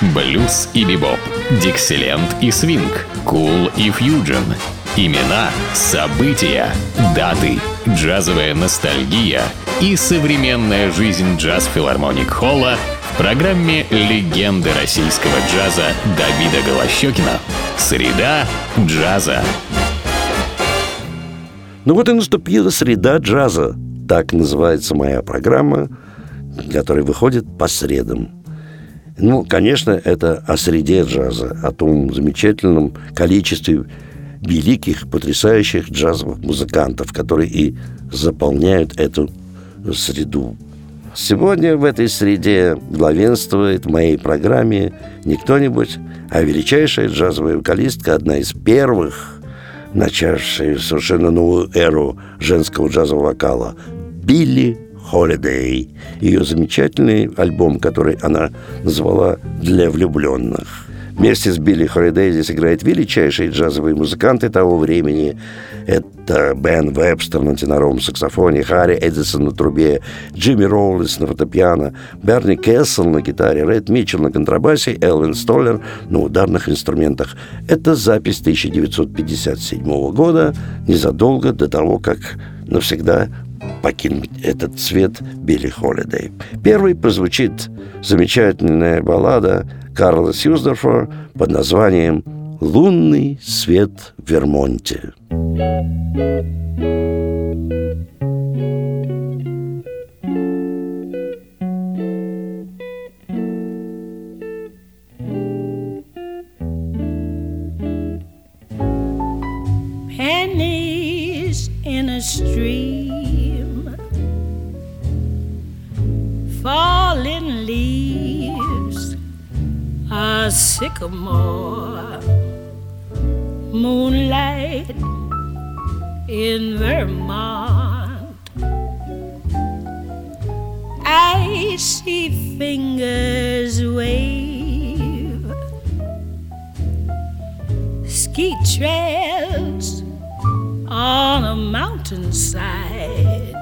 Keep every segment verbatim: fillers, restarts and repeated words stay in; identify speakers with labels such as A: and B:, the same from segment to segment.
A: Блюз и бибоп, диксиленд и свинг, кул и фьюджен. Имена, события, даты, джазовая ностальгия и современная жизнь джаз-филармоник Холла в программе «Легенды российского джаза» Давида Голощёкина. Среда джаза.
B: Ну вот и наступила среда джаза. Так называется моя программа, которая выходит по средам. Ну, конечно, это о среде джаза, о том замечательном количестве великих, потрясающих джазовых музыкантов, которые и заполняют эту среду. Сегодня в этой среде главенствует в моей программе не кто-нибудь, а величайшая джазовая вокалистка, одна из первых, начавшая совершенно новую эру женского джазового вокала, Билли Холидей. Ее замечательный альбом, который она назвала «Для влюбленных». Вместе с Билли Холидей здесь играют величайшие джазовые музыканты того времени. Это Бен Вебстер на теноровом саксофоне, Харри Эдисон на трубе, Джимми Роулинс на фортепиано, Берни Кессел на гитаре, Ред Митчелл на контрабасе, Элвин Столлер на ударных инструментах. Это запись тысяча девятьсот пятьдесят седьмого года, незадолго до того, как навсегда покинуть этот свет Билли Холидей. Первой прозвучит замечательная баллада Карла Сьюздорфа под названием «Лунный свет в Вермонте».
C: Pennies in a stream, falling leaves, a sycamore, moonlight in Vermont. I see fingers wave, ski trails on a mountainside,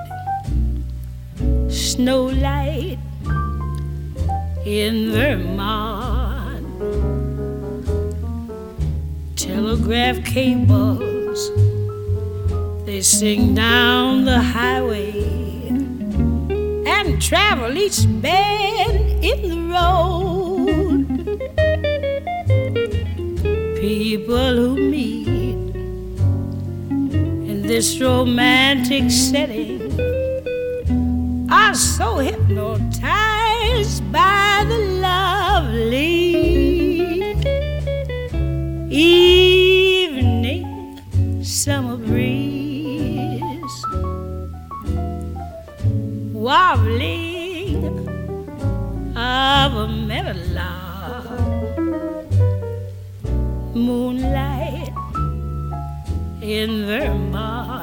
C: snowlight in Vermont. Telegraph cables, they sing down the highway and travel each bend in the road. People who meet in this romantic setting are so hypnotized by the lovely evening summer breeze, warbling of a meadowlark, moonlight in Vermont.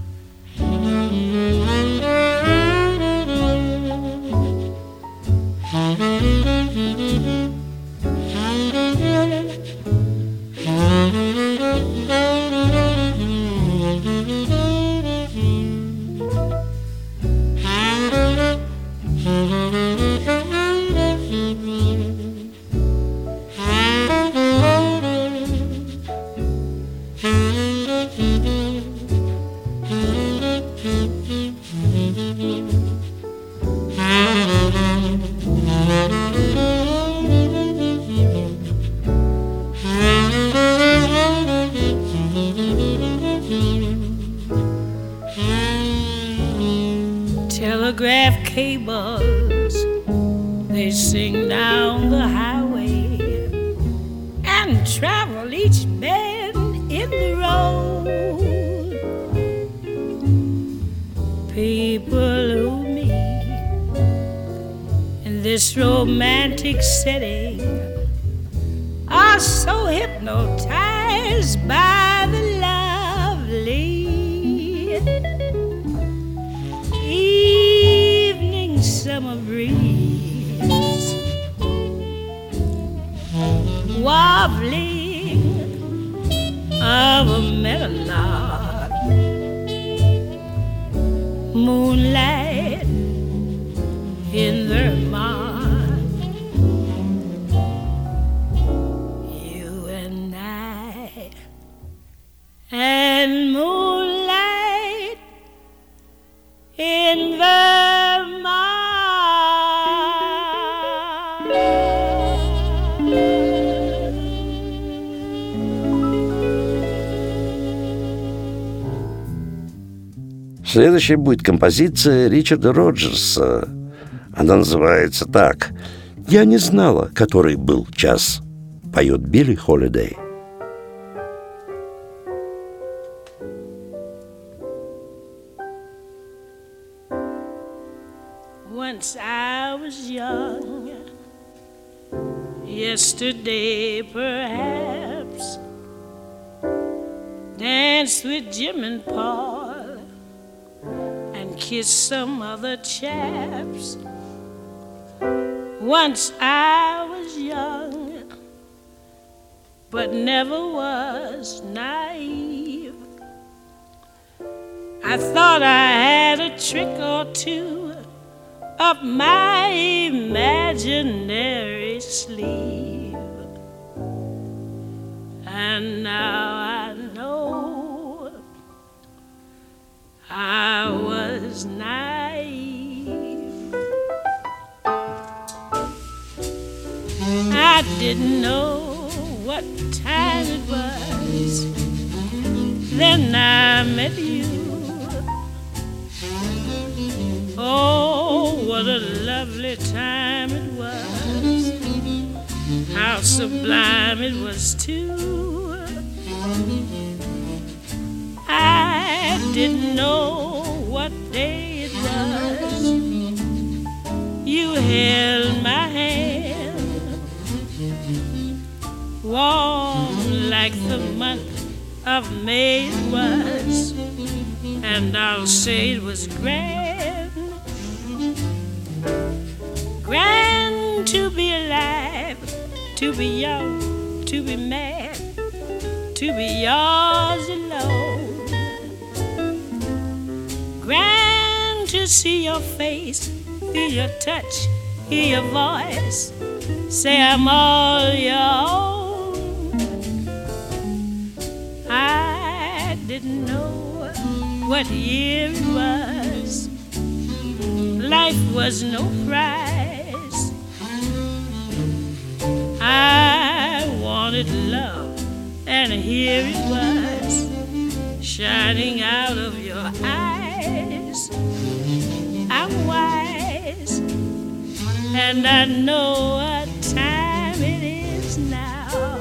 C: Telegraph cables, they sing down the highway and travel each bend in the road. People who meet in this romantic setting are so hypnotized by the lovely evening summer breeze, warbling of a meadowlark, moonlight in Vermont.
B: Следующая будет композиция Ричарда Роджерса. Она называется так: «Я не знала, который был час», поет Билли Холидей.
C: Once I was young, yesterday perhaps, danced with Jim and Paul and kissed some other chaps. Once I was young, but never was naive. I thought I had a trick or two up my imaginary sleeve, and now I know I was naive. I didn't know what time it was, then I met you. Oh, what a lovely time it was, how sublime it was too. I didn't know what day it was, you held my hand, warm like the month of May it was, and I'll say it was grand. Grand to be alive, to be young, to be mad, to be yours alone. Grand to see your face, feel your touch, hear your voice, say I'm all your own. I didn't know what year it was, life was no prize. I wanted love, and here it was, shining out of your eyes. I'm wise, and I know what time it is now.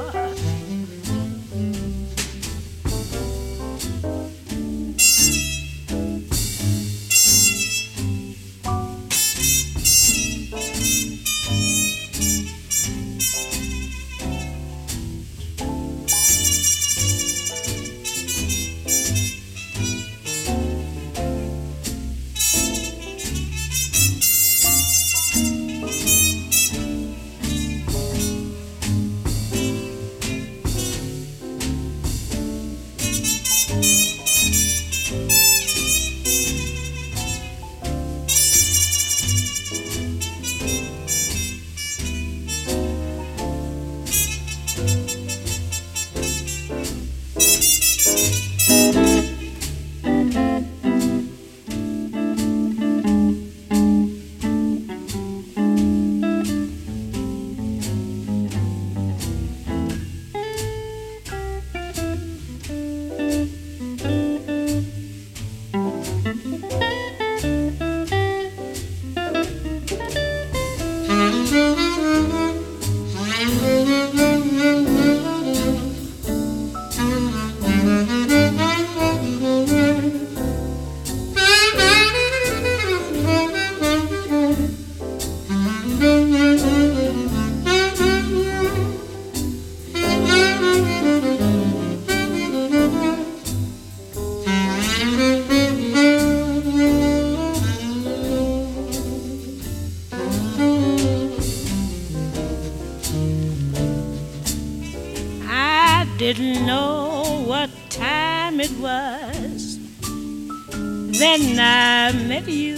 C: Didn't know what time it was, then I met you.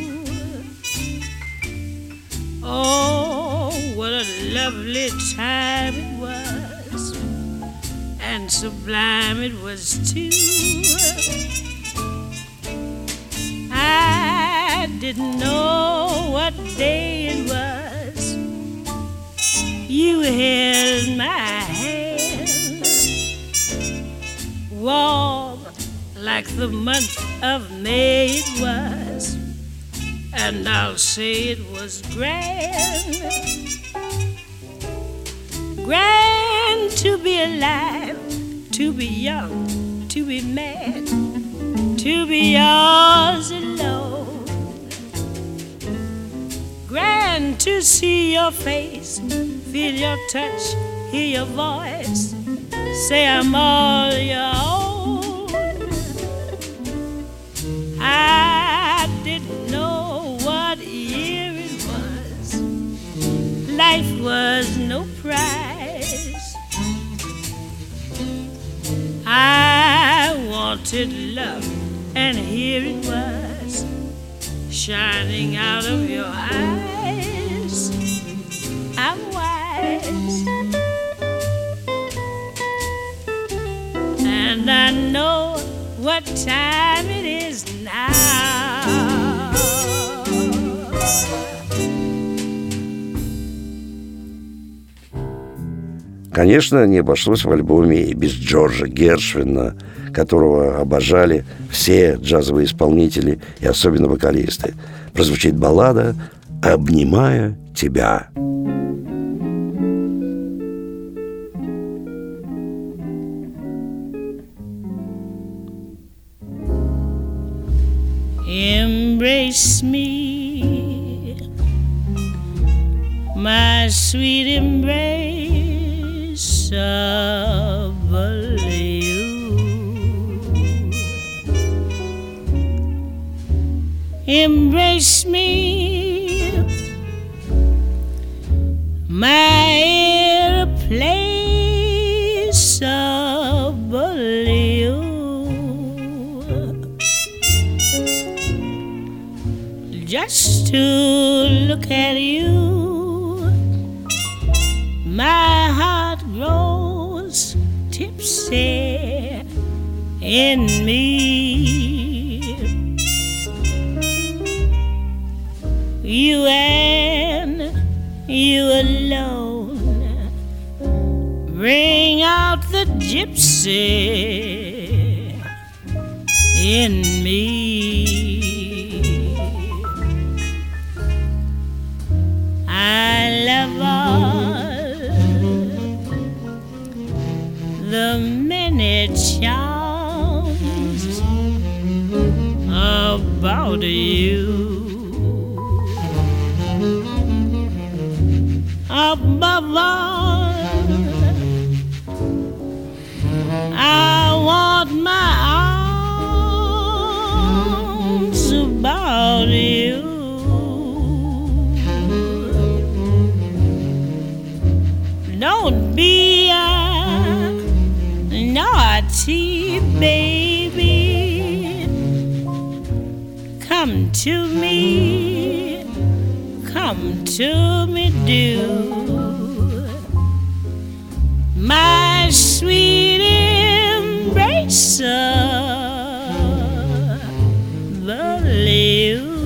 C: Oh, what a lovely time it was, and sublime it was too. I didn't know what day it was, you held my hand, warm like the month of May it was, and I'll say it was grand. Grand to be alive, to be young, to be mad, to be yours alone. Grand to see your face, feel your touch, hear your voice, say I'm all your own. I didn't know what year it was. Life was no prize. I wanted love, and here it was, shining out of your eyes. I'm wise, and I know what time it is now.
B: Конечно, не обошлось в альбоме и без Джорджа Гершвина, которого обожали все джазовые исполнители и особенно вокалисты. Прозвучит баллада «Обнимая тебя».
C: Embrace me, my sweet embrace of you. Embrace me, my irreplaceable you. Just to look at you, my heart grows tipsy in me. You and you alone bring out the gypsy in me. I love all the many charms about you. Above all, I want my arms about you. Don't be a naughty baby. Come to me, come to me, do. My sweet embrace of you.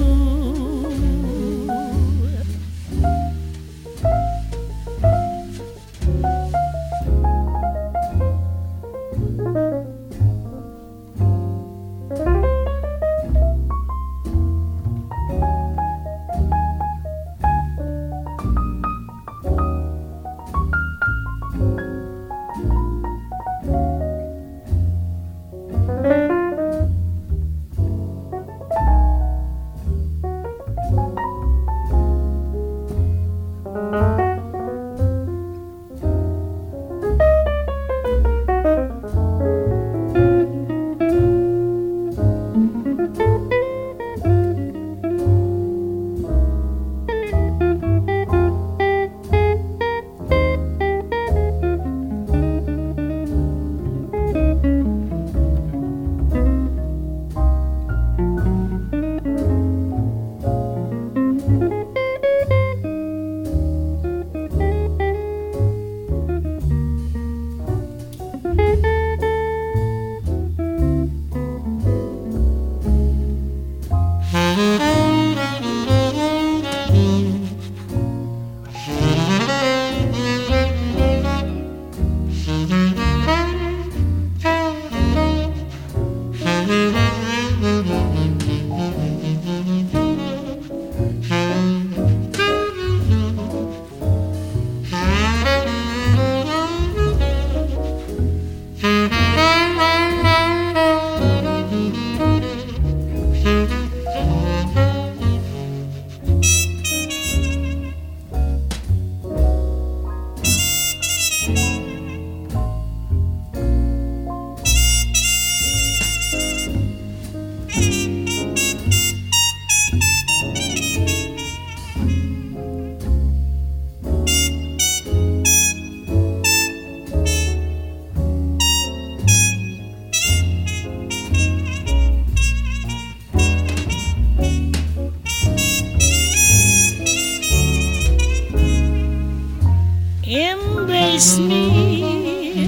C: embrace me,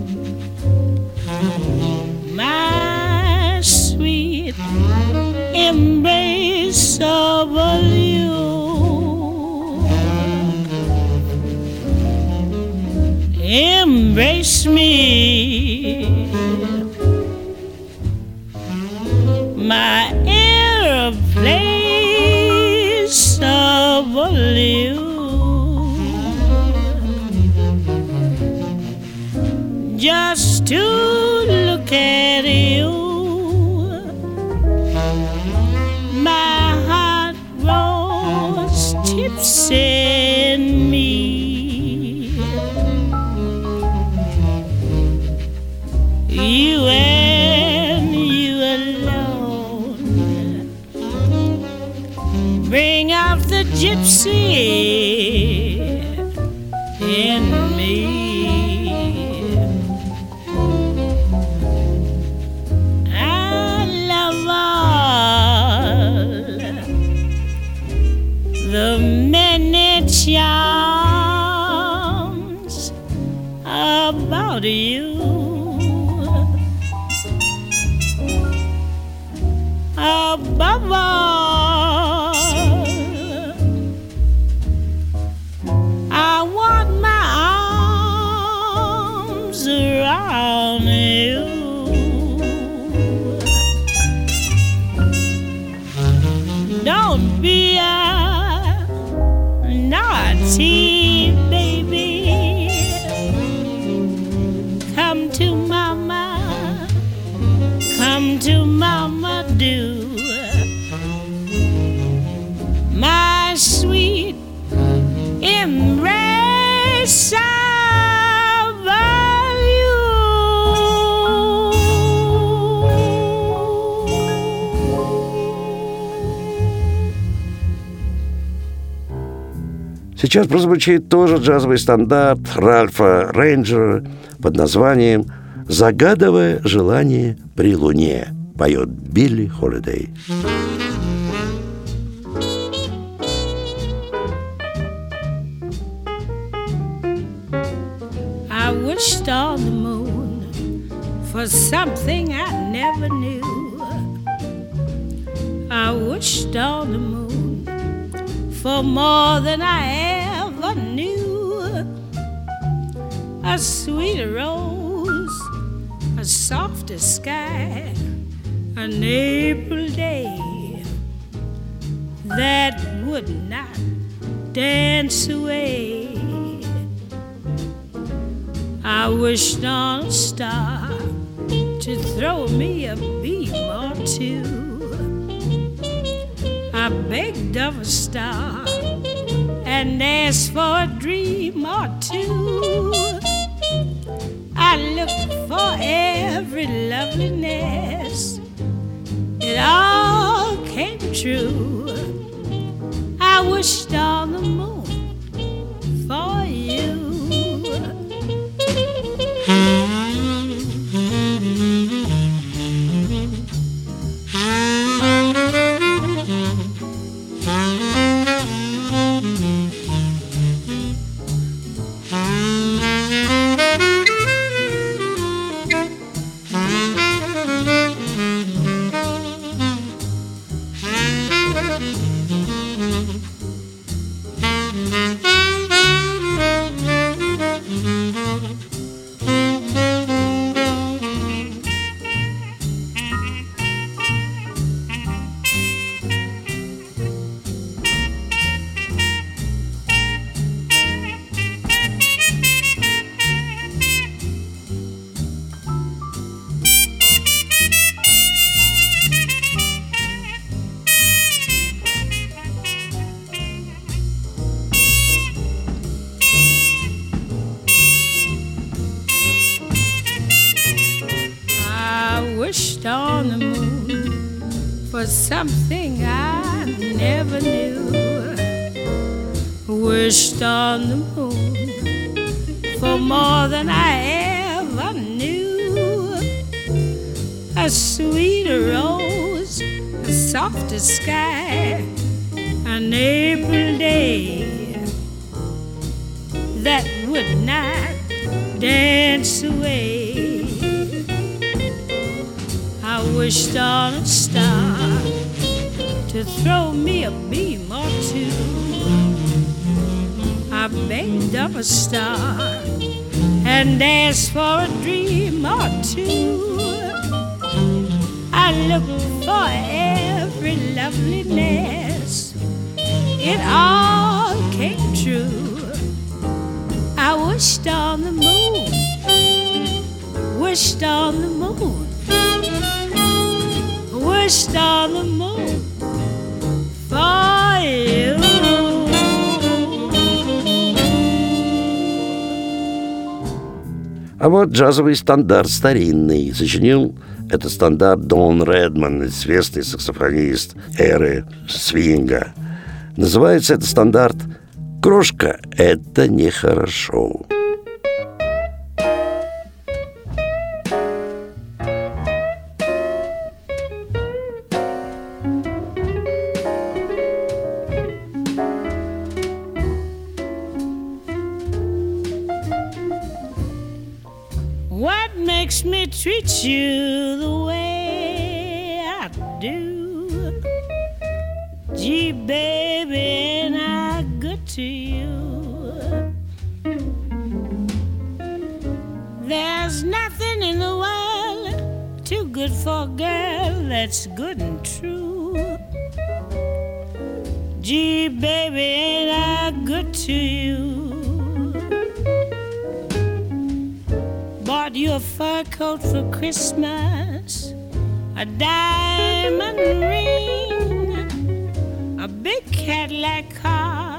C: my sweet embrace of you. Embrace me, my airplanes of you. Just to look at you, my heart grows tipsy in me. You and you alone bring out the gypsy in me. I love all the many charms about you. Above all, I want my arms around you. Don't be a naughty baby. Come to mama, come to mama, do. My sweet embrace of you.
B: Сейчас прозвучит тоже джазовый стандарт Ральфа Рейнджера под названием «Загадывая желание при луне». Поет Билли Холидей.
C: I wished on the moon for something I never knew. I wished on the moon for more than I ever knew. A sweeter rose, a softer sky, an April day that would not dance away. I wished on a star to throw me a beam or two. I begged of a star and asked for a dream or two. I looked for every loveliness, it all came true. I wished on the moon for you. Wished on the moon for something I never knew. Wished on the moon for more than I ever knew. A sweeter rose, a softer sky, an April day that would not dance away. I wished on a star to throw me a beam or two. I begged of a star and asked for a dream or two. I looked for every loveliness, it all came true. I wished on the moon, wished on the moon, wished on the moon for you.
B: А вот джазовый стандарт старинный. Сочинил этот стандарт Дон Редман, известный саксофонист эры свинга. Называется этот стандарт «Крошка, это нехорошо».
C: What makes me treat you the way I do? Gee, baby, ain't I good to you? There's nothing in the world too good for a girl that's good and true. Gee, baby, ain't I good to you? Bought you a fur coat for Christmas, a diamond ring, a big Cadillac car,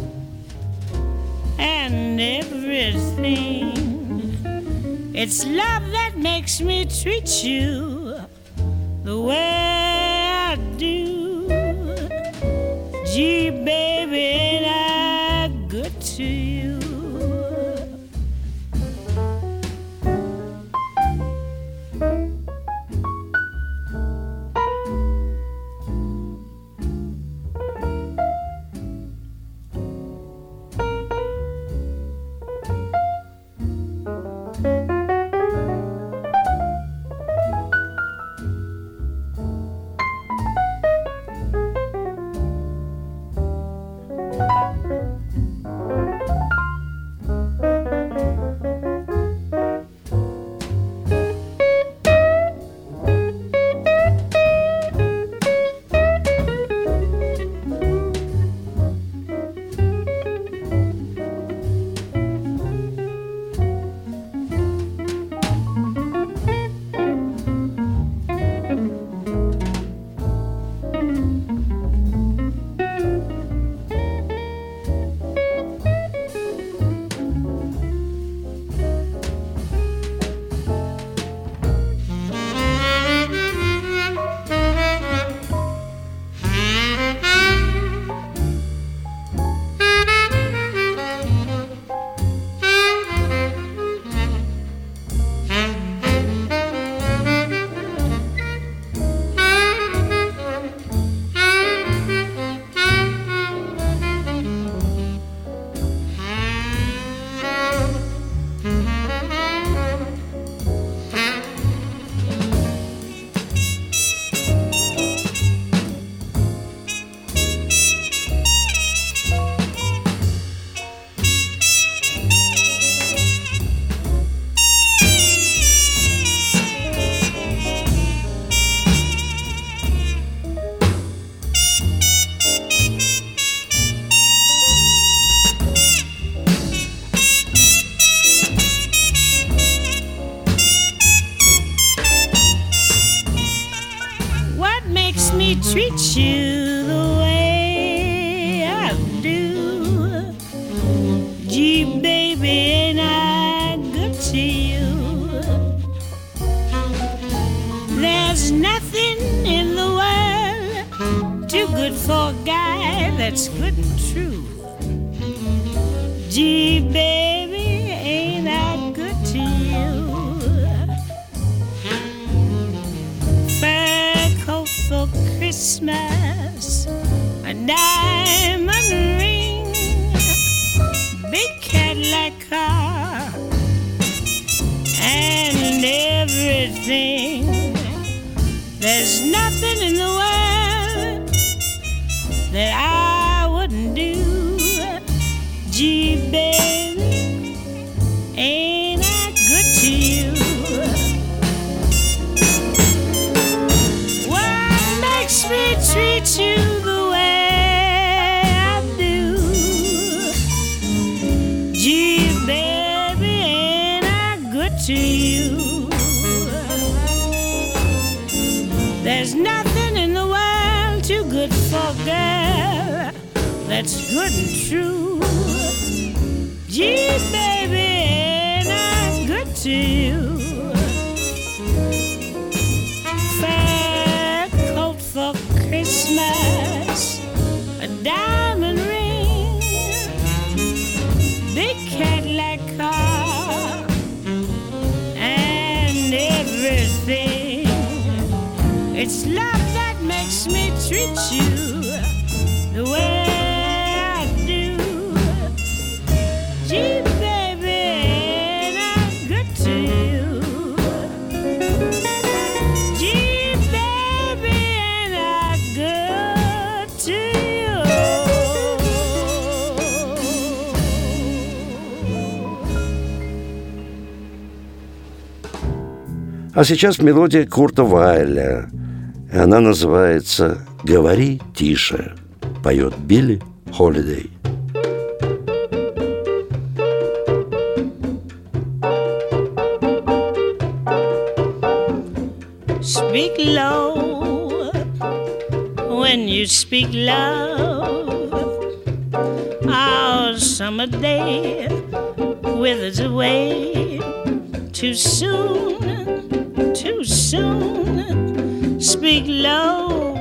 C: and everything. It's love that makes me treat you the way I do. Gee, baby, ain't I good to you? Treat you the way I do. Gee, baby, ain't I good to you? There's nothing in the world too good for a guy that's good and true. Gee, baby, ain't I good to you? Fur coat for Christmas, a diamond ring, big Cadillac car, everything. There's nothing in the world that I wouldn't do. Gee, baby, ain't I good to you? What makes me treat you the way I do? Gee, baby, ain't I good to you? There's nothing in the world too good for a girl that's good and true. Gee, baby, ain't I good to you? Fair coat for Christmas, a diamond ring, big Cadillac car, and everything. It's love that makes me treat you the way I do. Gee, baby, ain't I good to you? Gee, baby, ain't I good to you?
B: А сейчас мелодия Курта Вайля. И она называется «Говори тише», поет Билли Холидей.
C: Speak low when you speak love. Our summer day withers away too soon, too soon. Speak low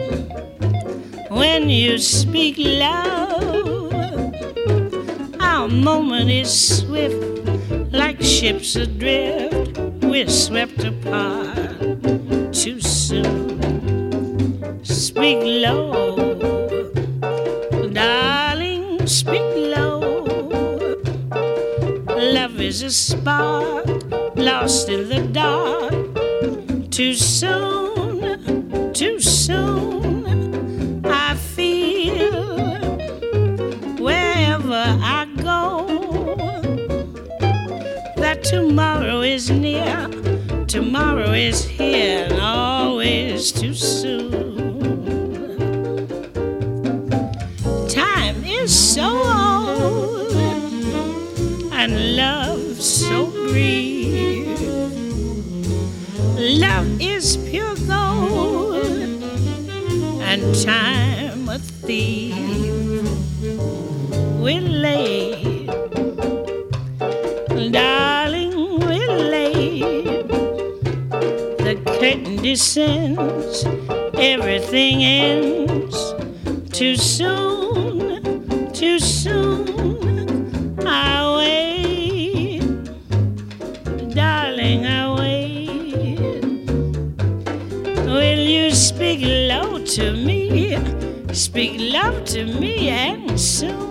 C: when you speak low. Our moment is swift, like ships adrift. We're swept apart too soon. Speak low, darling, speak low. Love is a spark lost in the dark. Too soon, too soon, I feel wherever I go that tomorrow is near, tomorrow is here, and always too soon. Time is so old and love so brief. Love is pure gold and time a thief. We're late, darling, we're late. The curtain descends, everything ends. Too soon, too soon, I wait, darling, I wait. Will you speak low to me, speak love to me, and soon?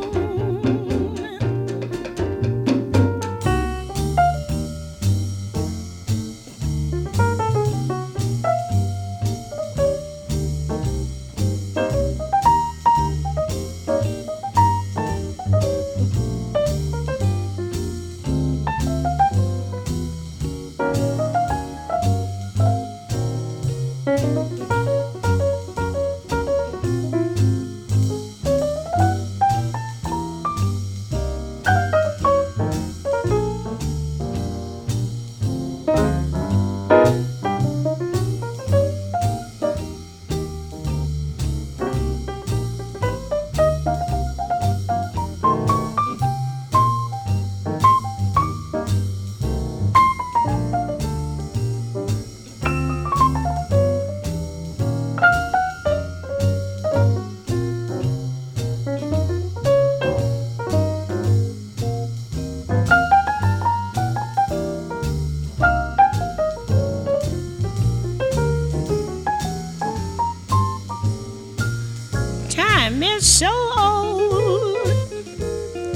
C: So old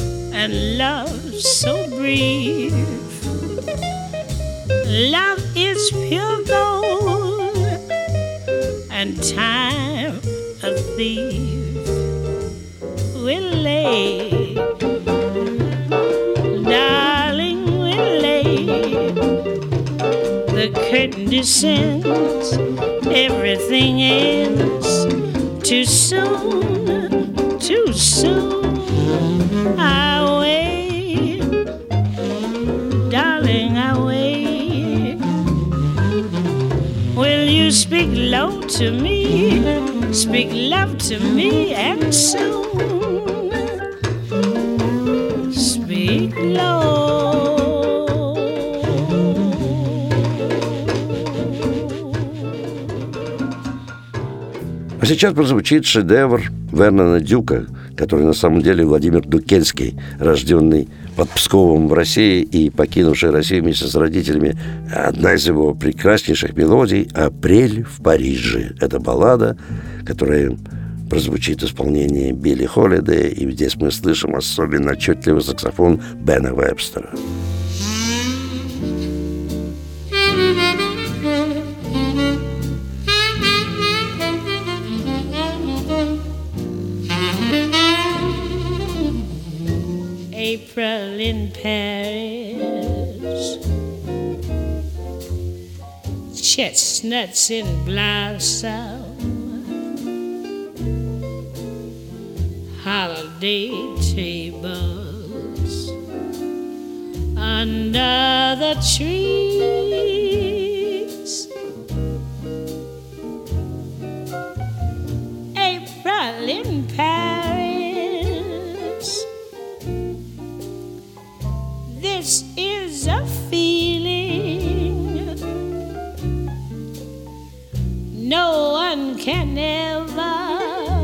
C: and love so brief. Love is it's pure gold, and time a thief will lay. Darling, will lay. The curtain descends, everything ends. Too soon, too soon. I wait, darling, I wait. Will you speak low to me? Speak love to me, and soon. Speak low.
B: А сейчас прозвучит шедевр Вернона Дюка, который на самом деле Владимир Дукельский, рожденный под Псковом в России и покинувший Россию вместе с родителями. Одна из его прекраснейших мелодий «Апрель в Париже». Это баллада, которая прозвучит в исполнении Билли Холидей, и здесь мы слышим особенно отчетливый саксофон Бена Вебстера.
C: April in Paris, chestnuts in blossom, holiday tables under the trees. April in Paris, this is a feeling no one can ever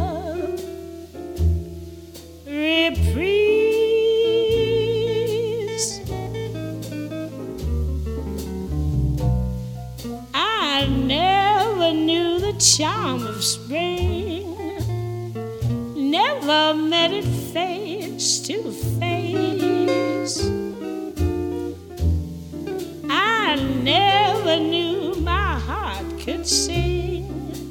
C: reprise. I never knew the charm of spring, never met it face to face. I never knew my heart could sing,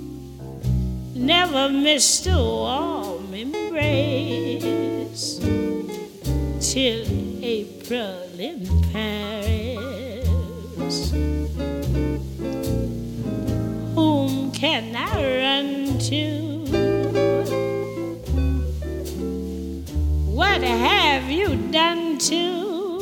C: never missed a warm embrace, till April in Paris. Whom can I run to? What have you done to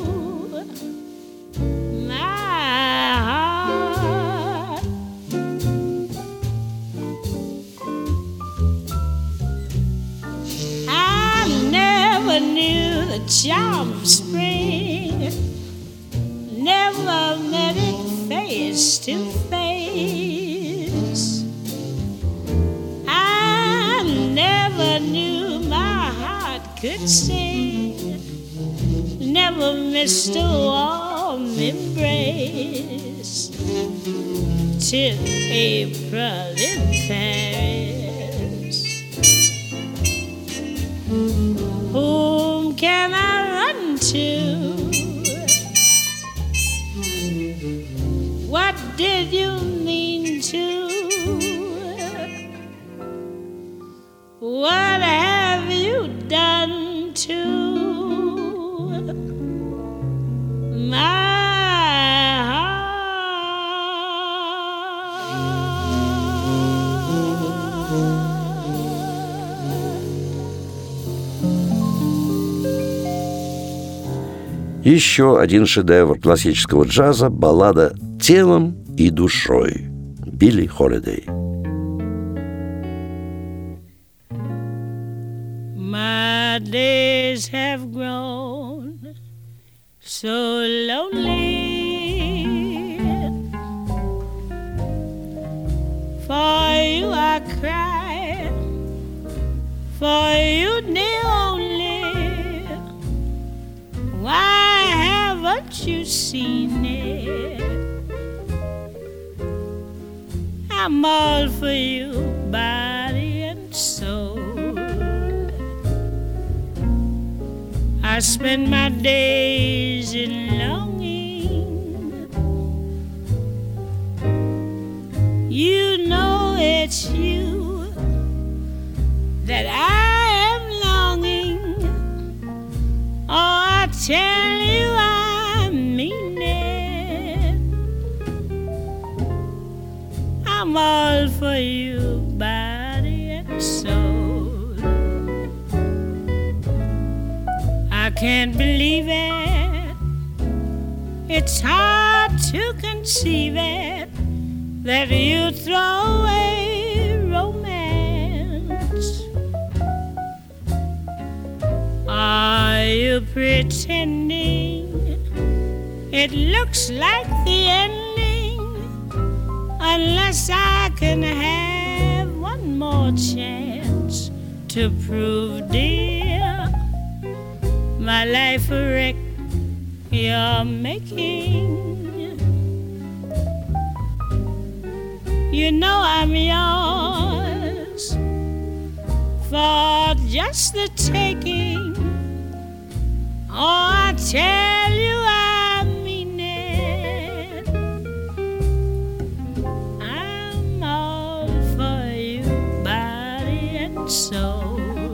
C: the charm of spring, never met it face to face. I never knew my heart could sing, never missed a warm embrace, till April in Paris. Whom can I run to? What did you mean to? What have you done to my
B: Еще один шедевр классического джаза – баллада «Телом и душой» Билли Холидей.
C: My days have grown so lonely, for you I cry, for you the only. Why haven't you seen it? I'm all for you, body and soul. I spend my days in longing that I am longing. Oh, I tell you I mean it. I'm all for you, body and soul. I can't believe it. It's hard to conceive it that you throw away romance. Are you pretending it looks like the ending? Unless I can have one more chance to prove, dear, my life a wreck you're making. You know I'm yours for just the taking. Oh, I tell you I mean it. I'm all for you, body and soul.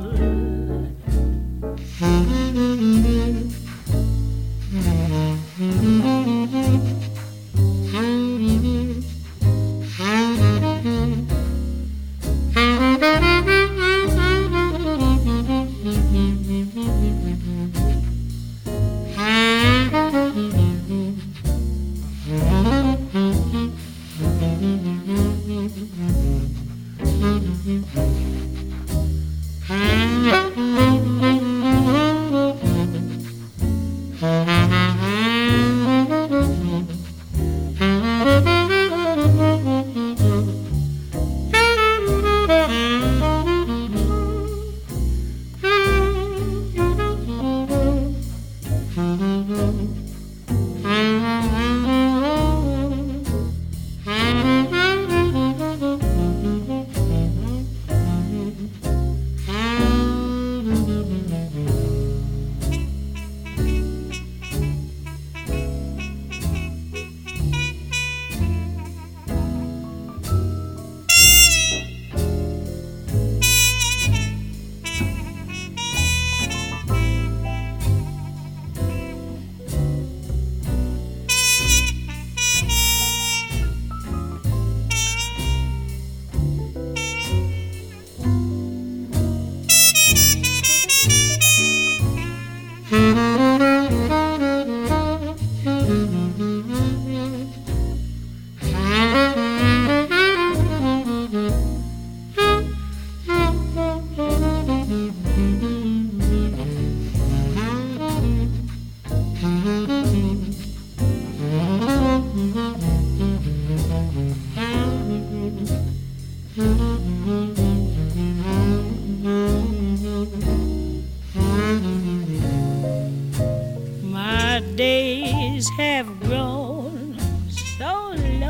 C: My days have grown so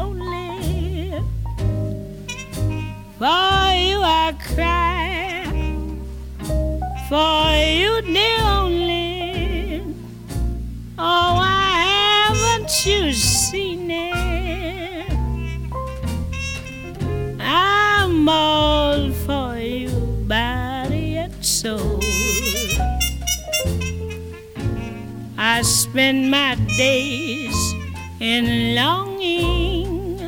C: lonely. For you I cry, for you dear only. Oh, why haven't you seen it? I'm all for you, body and soul. I spend my days in longing,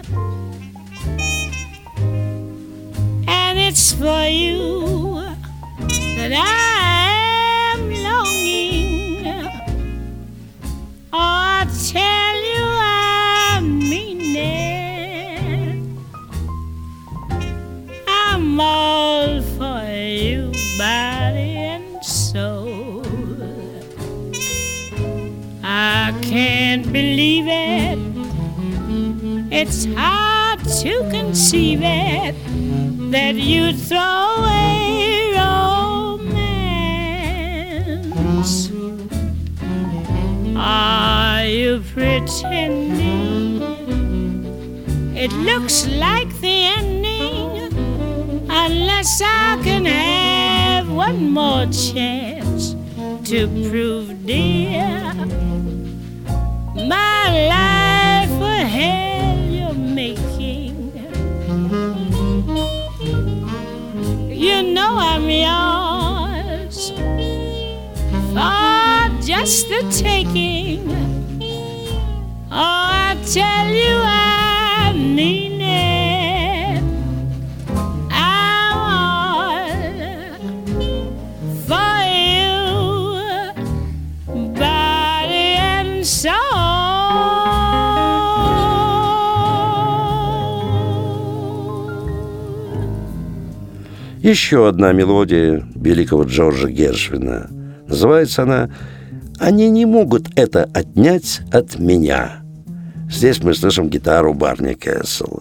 C: and it's for you that I am longing. Oh, I tell you I mean it. I'm all for you, body and soul. I can't believe it. It's hard to conceive it that you throw away romance. Are you pretending it looks like the ending? Unless I can have one more chance to prove, dear, my life a hell you're making. you know I'm yours for just the taking. Oh, I tell you I mean it. I want for you, body and soul.
B: Еще одна мелодия великого Джорджа Гершвина. Называется она «Они не могут это отнять от меня». Здесь мы слышим гитару Барни Кэссела.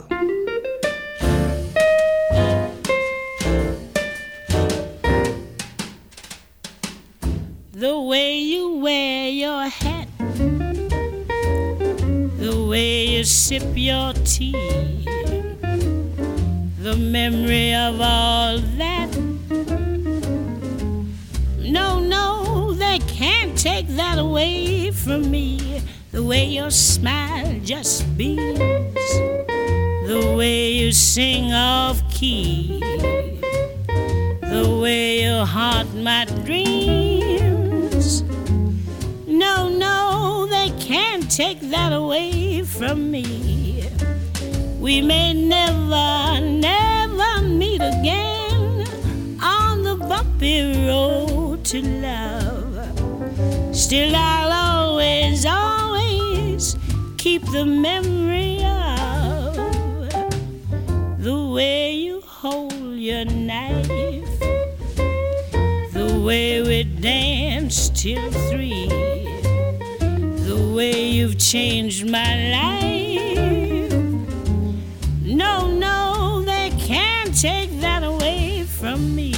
C: The way you wear your hat, the way you sip your tea, the memory of all that. No, no, they can't take that away from me. The way your smile just beams, the way you sing off key, the way you haunt my dreams. No, no, they can't take that away from me. We may never, never meet again on the bumpy road to love. Still I'll always, always keep the memory of the way you hold your knife, the way we danced till three, the way you've changed my life. No, no, they can't take that away from me.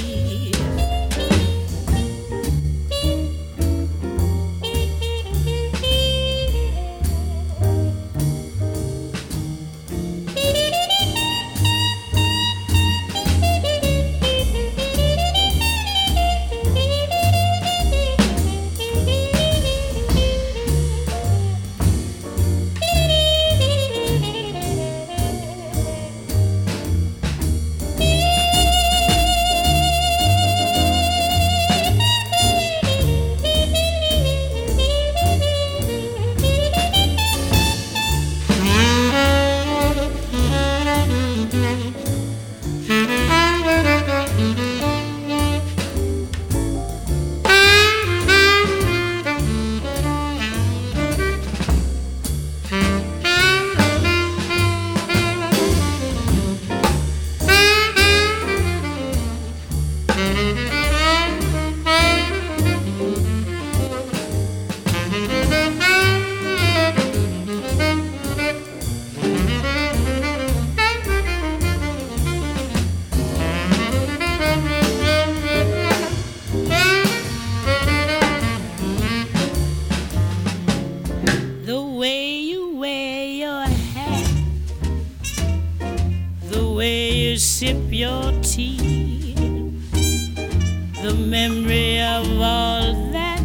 C: Sip your tea, the memory of all that.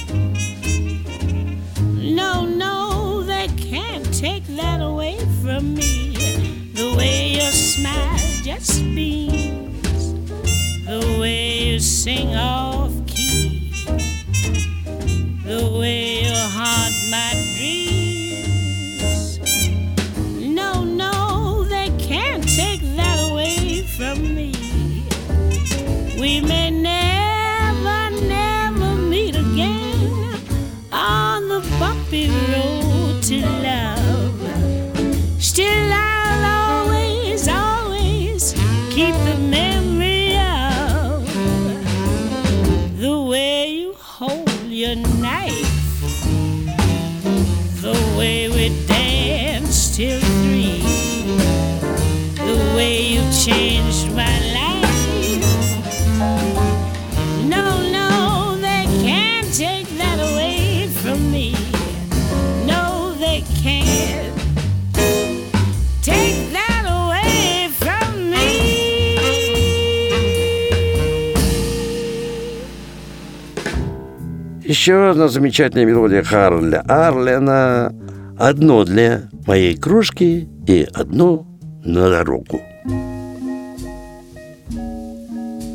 C: No, no, they can't take that away from me. The way your smile just beams, the way you sing off key, the way you haunt my dreams. No, no, they can't take that away from me. We may never, never meet again on the bumpy road to love. Still I'll always, always keep the memory of the way you hold your knife, the way we danced till three, the way you changed my life. No, no, they can't take that away from me. No, they can't take that away from me.
B: Еще одна замечательная мелодия Харля Арлена. Одно для моей кружки и одно на дорогу.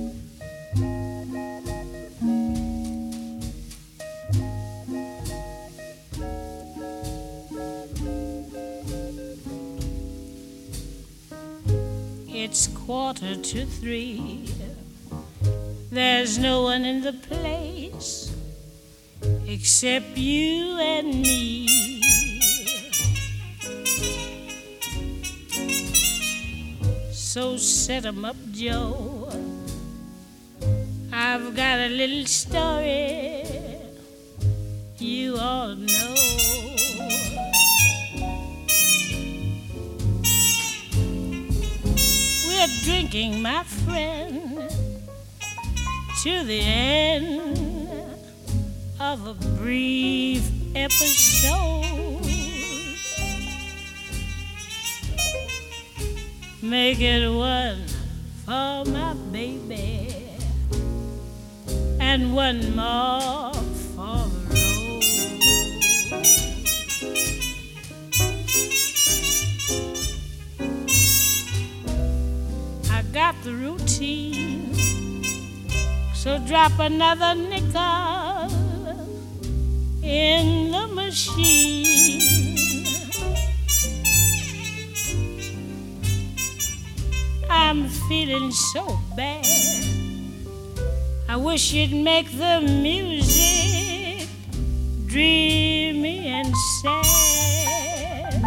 C: It's quarter to three. There's no one in the place except you and me. So set 'em up, Joe. I've got a little story you all know. We're drinking, my friend, to the end of a brief episode. Make it one for my baby and one more for the road. I got the routine, so drop another nickel in the machine. I'm feeling so bad, I wish you'd make the music dreamy and sad.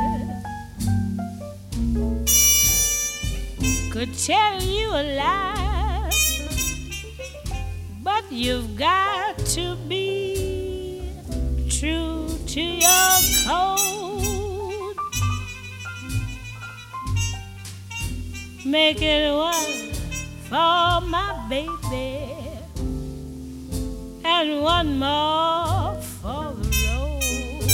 C: Could tell you a lie, but you've got to be true to your code. Make it one for my baby and one more for the road.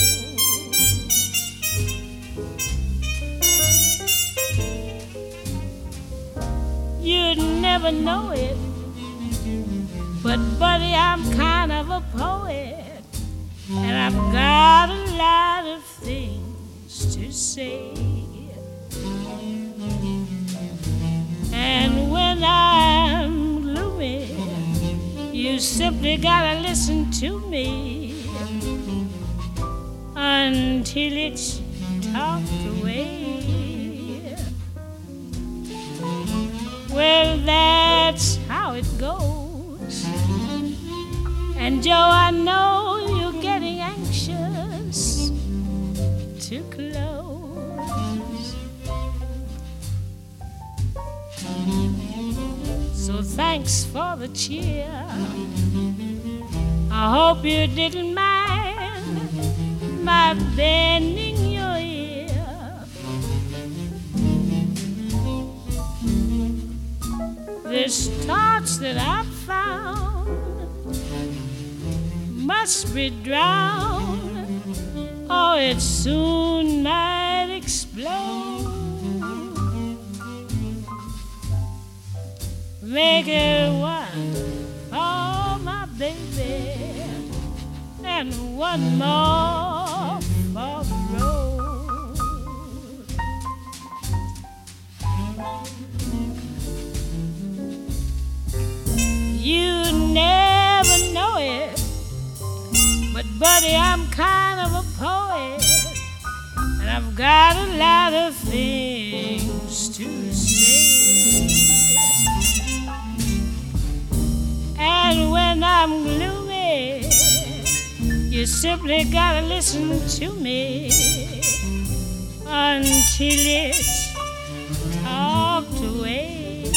C: You'd never know it, but buddy, I'm kind of a poet, and I've got a lot of things to say. And when I'm gloomy, you simply gotta listen to me until it's talked away. Well, that's how it goes. And Joe, I know you're getting anxious to close. So thanks for the cheer. I hope you didn't mind my bending your ear. This torch that I found must be drowned, or it soon might explode. Make it one for my baby and one more for the road. You never know it, but buddy, I'm kind of a poet, and I've got a lot of things to say. And when I'm gloomy, you simply gotta listen to me until it's talked away.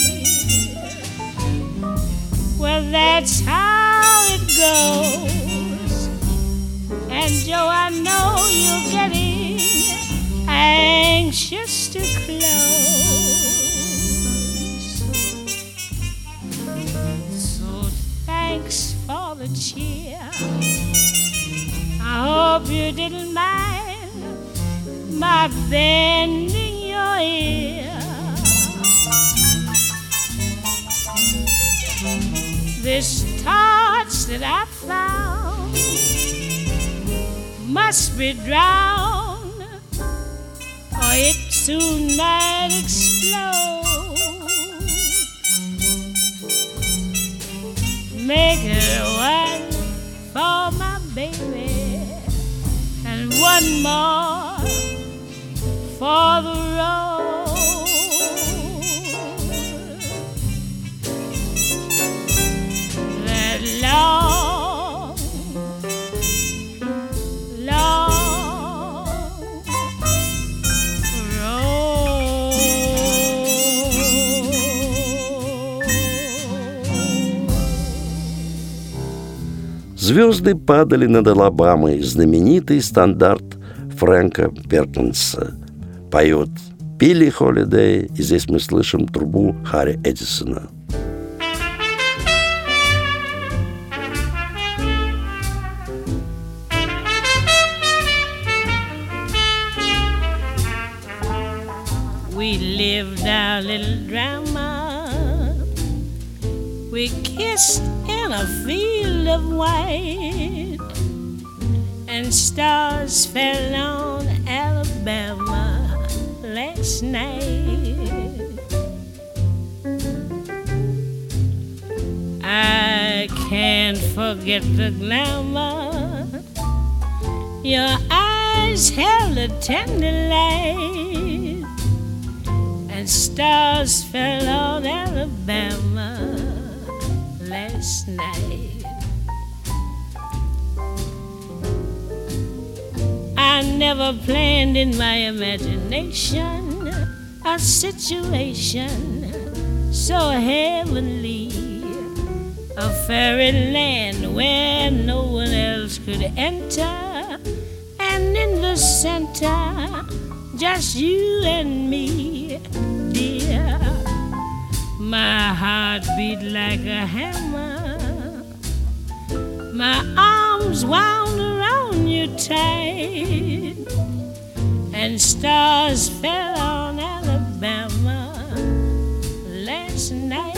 C: Well, that's how it goes. And Joe, I know you're getting anxious to close. Thanks for the cheer. I hope you didn't mind my bending your ear. This torch that I found must be drowned, or it soon might explode. Make it one for my baby and one more for the road.
B: Звезды падали над Алабамой, знаменитый стандарт Фрэнка Перкинса. Поет Билли Холидей, и здесь мы слышим трубу Харри Эдисона.
C: We lived our little drama. We kissed in a field of white, and stars fell on Alabama last night. I can't forget the glamour. Your eyes held a tender light, and stars fell on Alabama last night. I never planned in my imagination a situation so heavenly, a fairyland where no one else could enter, and in the center, just you and me, dear. My heart beat like a hammer, my arms wound around you tight, and stars fell on Alabama last night.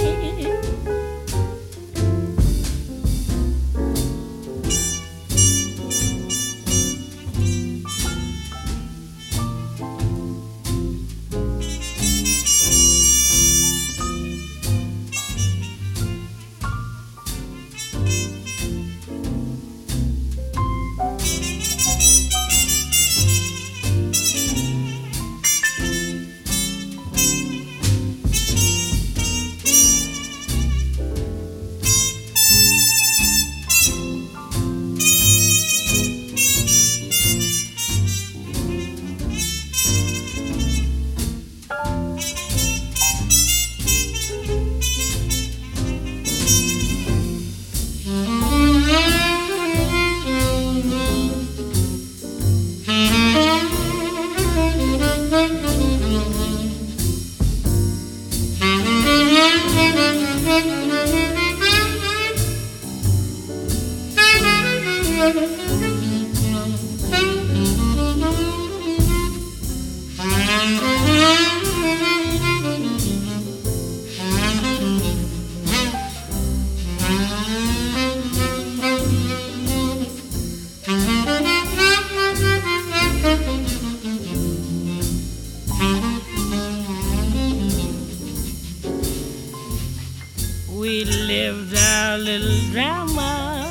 C: We lived our little drama.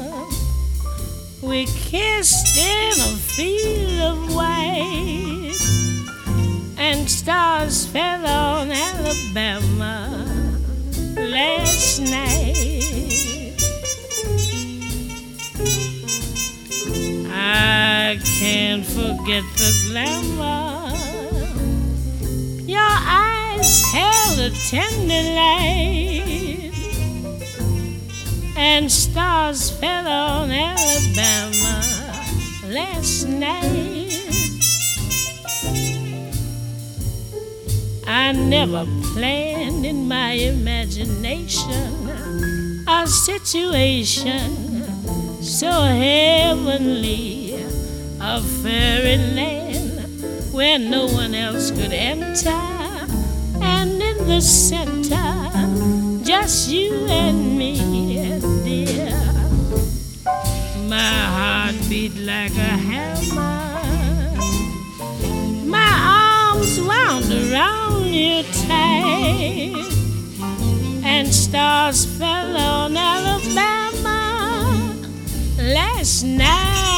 C: We kissed in a field of white, and stars fell on Alabama last night. I can't forget the glamour. Your eyes held a tender light, and stars fell on Alabama last night. I never planned in my imagination a situation so heavenly, a fairyland where no one else could enter, and in the center, just you and me, dear. My heart beat like a hammer, my arms wound around you tight, and stars fell on Alabama last night.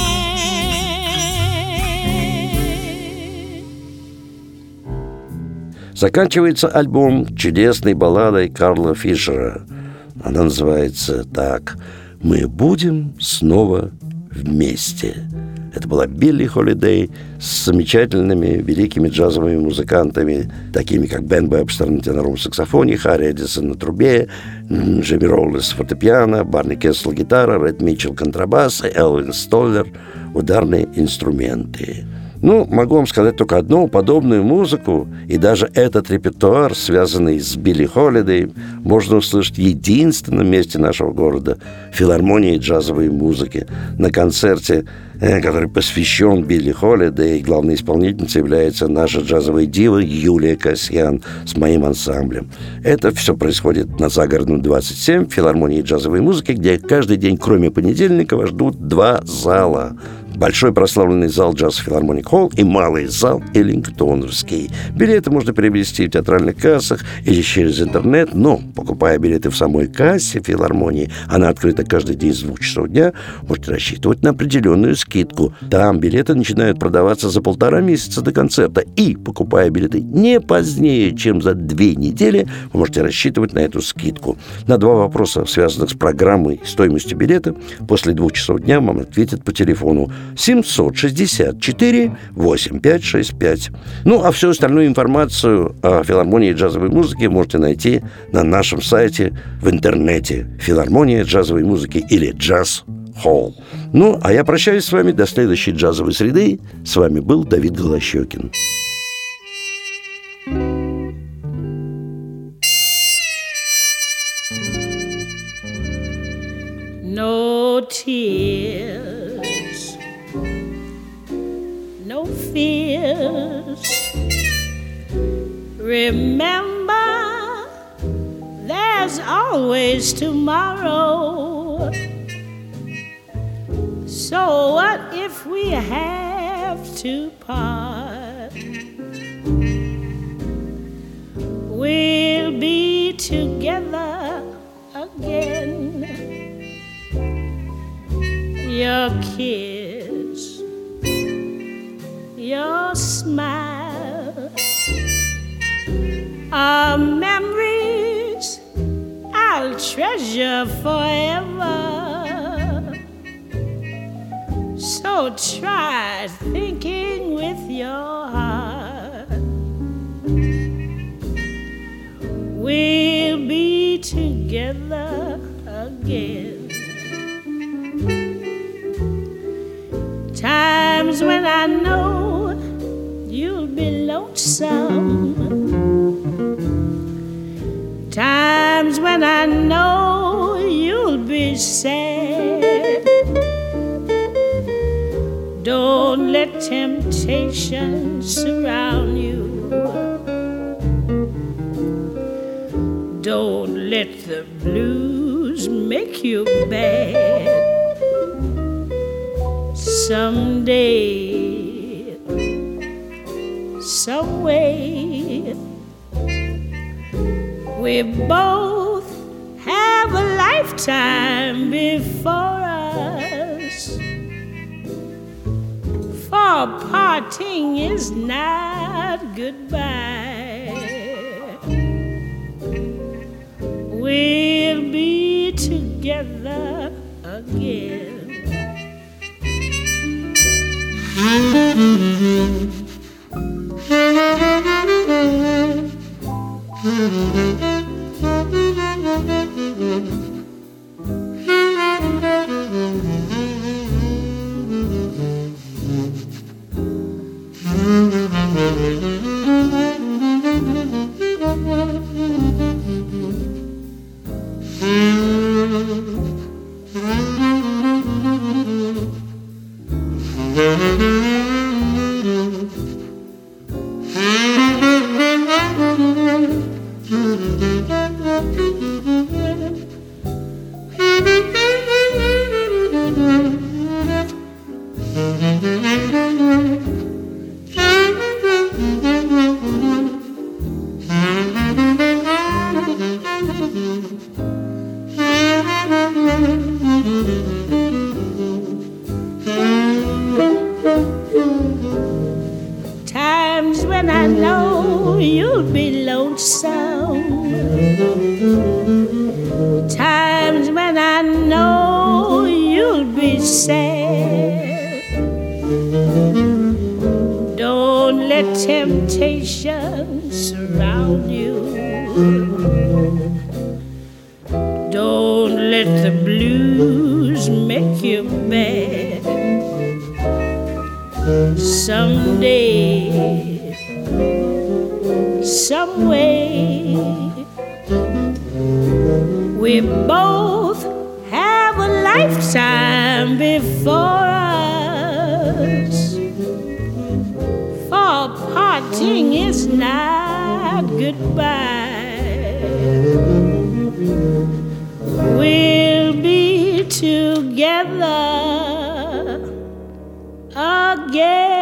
B: Заканчивается альбом чудесной балладой Карла Фишера. Она называется так: «Мы будем снова вместе». Это была Билли Холидей с замечательными великими джазовыми музыкантами, такими как Бен Вебстер на теноровом саксофоне, Харри Эдисон на трубе, Джимми Роллес фортепиано, Барни Кессел гитара, Ред Митчелл контрабас, Элвин Столлер ударные инструменты. Ну, могу вам сказать только одно: подобную музыку и даже этот репертуар, связанный с Билли Холидей, можно услышать в единственном месте нашего города — филармонии джазовой музыки, на концерте, который посвящен Билли Холидей. Главной исполнительницей является наша джазовая дива Юлия Касьян с моим ансамблем. Это все происходит на Загородном двадцать семь, в филармонии джазовой музыки, где каждый день, кроме понедельника, вас ждут два зала. Большой прославленный зал Джаз Филармоник Холл и малый зал Эллингтоновский. Билеты можно приобрести в театральных кассах или через интернет, но, покупая билеты в самой кассе филармонии, она открыта каждый день с двух часов дня, можете рассчитывать на определенную скидку. Там билеты начинают продаваться за полтора месяца до концерта. И, покупая билеты не позднее, чем за две недели, вы можете рассчитывать на эту скидку. На два вопроса, связанных с программой и стоимостью билета, после двух часов дня вам ответят по телефону семьсот шестьдесят четыре восемьдесят пять шестьдесят пять. Ну, а всю остальную информацию о филармонии джазовой музыки можете найти на нашем сайте в интернете «Филармония джазовой музыки» или «Джаз Холл». Ну, а я прощаюсь с вами до следующей джазовой среды. С вами был Давид Голощёкин.
C: No tears, no fears. Remember, there's always tomorrow. So what if we have to part? We'll be together again. Your kiss, your smile are memories I'll treasure forever. So try thinking with your heart. We'll be together again. Times when I know you'll be lonesome. Times when I know you'll be sad. Don't let temptation surround you. Don't let the blues make you bad. Someday, some way, we both have a lifetime before us. For parting is not goodbye. We'll be together again. Times when I know you'll be lonesome. Times when I know you'll be sad. let temptation surround you. Don't let the blues make you bad. Someday, some way, we both have a lifetime before us. For parting is not goodbye. We'll be together again.